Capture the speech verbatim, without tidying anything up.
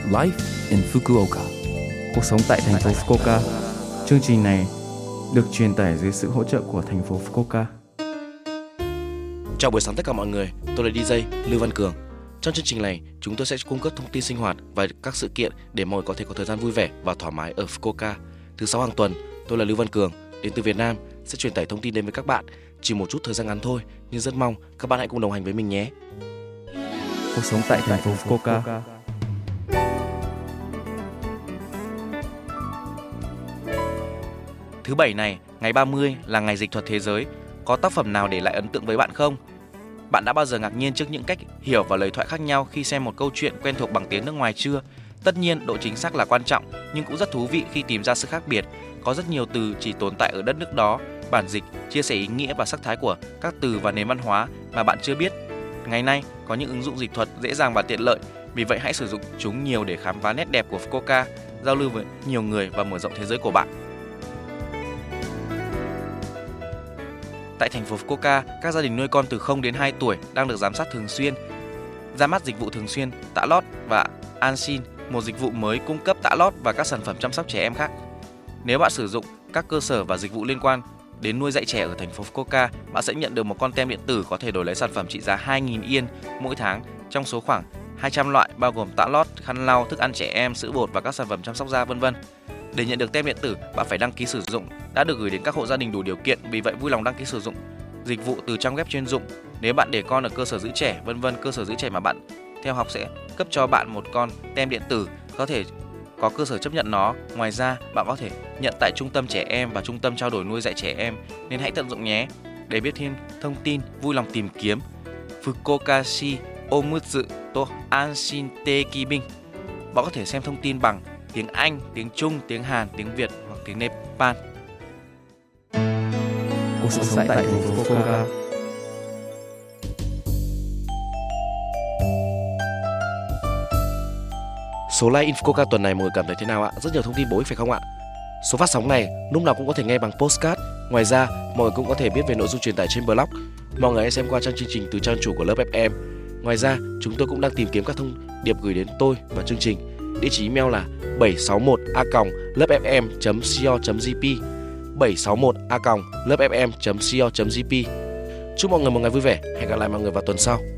Life in Fukuoka. Cuộc sống tại thành phố Fukuoka. Chương trình này được truyền tải dưới sự hỗ trợ của thành phố Fukuoka. Chào buổi sáng tất cả mọi người, tôi là đi giây Lưu Văn Cường. Trong chương trình này, chúng tôi sẽ cung cấp thông tin sinh hoạt và các sự kiện để mọi người có thể có thời gian vui vẻ và thoải mái ở Fukuoka. Thứ sáu hàng tuần, tôi là Lưu Văn Cường, đến từ Việt Nam, sẽ truyền tải thông tin đến với các bạn. Chỉ một chút thời gian ngắn thôi, nhưng rất mong các bạn hãy cùng đồng hành với mình nhé. Cuộc sống tại thành phố Fukuoka. Thứ bảy này, ngày ba mươi là ngày dịch thuật thế giới. Có tác phẩm nào để lại ấn tượng với bạn không? Bạn đã bao giờ ngạc nhiên trước những cách hiểu và lời thoại khác nhau khi xem một câu chuyện quen thuộc bằng tiếng nước ngoài chưa? Tất nhiên, độ chính xác là quan trọng, nhưng cũng rất thú vị khi tìm ra sự khác biệt. Có rất nhiều từ chỉ tồn tại ở đất nước đó. Bản dịch chia sẻ ý nghĩa và sắc thái của các từ và nền văn hóa mà bạn chưa biết. Ngày nay, có những ứng dụng dịch thuật dễ dàng và tiện lợi, vì vậy hãy sử dụng chúng nhiều để khám phá nét đẹp của Fukuoka, giao lưu với nhiều người và mở rộng thế giới của bạn. Tại thành phố Fukuoka, các gia đình nuôi con từ không đến hai tuổi đang được giám sát thường xuyên. Ra mắt dịch vụ thường xuyên tạ lót và Anshin, một dịch vụ mới cung cấp tạ lót và các sản phẩm chăm sóc trẻ em khác. Nếu bạn sử dụng các cơ sở và dịch vụ liên quan đến nuôi dạy trẻ ở thành phố Fukuoka, bạn sẽ nhận được một con tem điện tử có thể đổi lấy sản phẩm trị giá hai nghìn yên mỗi tháng trong số khoảng hai trăm loại, bao gồm tạ lót, khăn lau, thức ăn trẻ em, sữa bột và các sản phẩm chăm sóc da vân vân. Để nhận được tem điện tử, bạn phải đăng ký sử dụng, đã được gửi đến các hộ gia đình đủ điều kiện, vì vậy vui lòng đăng ký sử dụng dịch vụ từ trang web chuyên dụng. Nếu bạn để con ở cơ sở giữ trẻ, vân vân, cơ sở giữ trẻ mà bạn theo học sẽ cấp cho bạn một con tem điện tử, có thể có cơ sở chấp nhận nó. Ngoài ra, bạn có thể nhận tại trung tâm trẻ em và trung tâm trao đổi nuôi dạy trẻ em, nên hãy tận dụng nhé. Để biết thêm thông tin, vui lòng tìm kiếm Fukuokashi Omutsu to Anshin Tekibin. Bạn có thể xem thông tin bằng tiếng Anh, tiếng Trung, tiếng Hàn, tiếng Việt hoặc tiếng Nepal. Cuộc sống tại thành phố Fukuoka. Số like in Fukuoka tuần này mọi người cảm thấy thế nào ạ? Rất nhiều thông tin bổ ích phải không ạ? Số phát sóng này lúc nào cũng có thể nghe bằng podcast. Ngoài ra, mọi người cũng có thể biết về nội dung truyền tải trên blog. Mọi người hãy xem qua trang chương trình từ trang chủ của lớp ép em. Ngoài ra, chúng tôi cũng đang tìm kiếm các thông điệp gửi đến tôi và chương trình. Địa chỉ email là bảy sáu một a còng lớp ép em chấm co chấm jp bảy sáu một a còng lớp ép em chấm co chấm jp. Chúc mọi người một ngày vui vẻ. Hẹn gặp lại mọi người vào tuần sau.